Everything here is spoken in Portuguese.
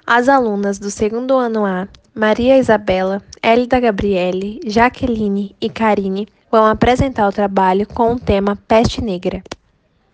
As alunas do segundo ano A, Maria Isabela, Hélida Gabriele, Jaqueline e Karine, vão apresentar o trabalho com o tema Peste Negra.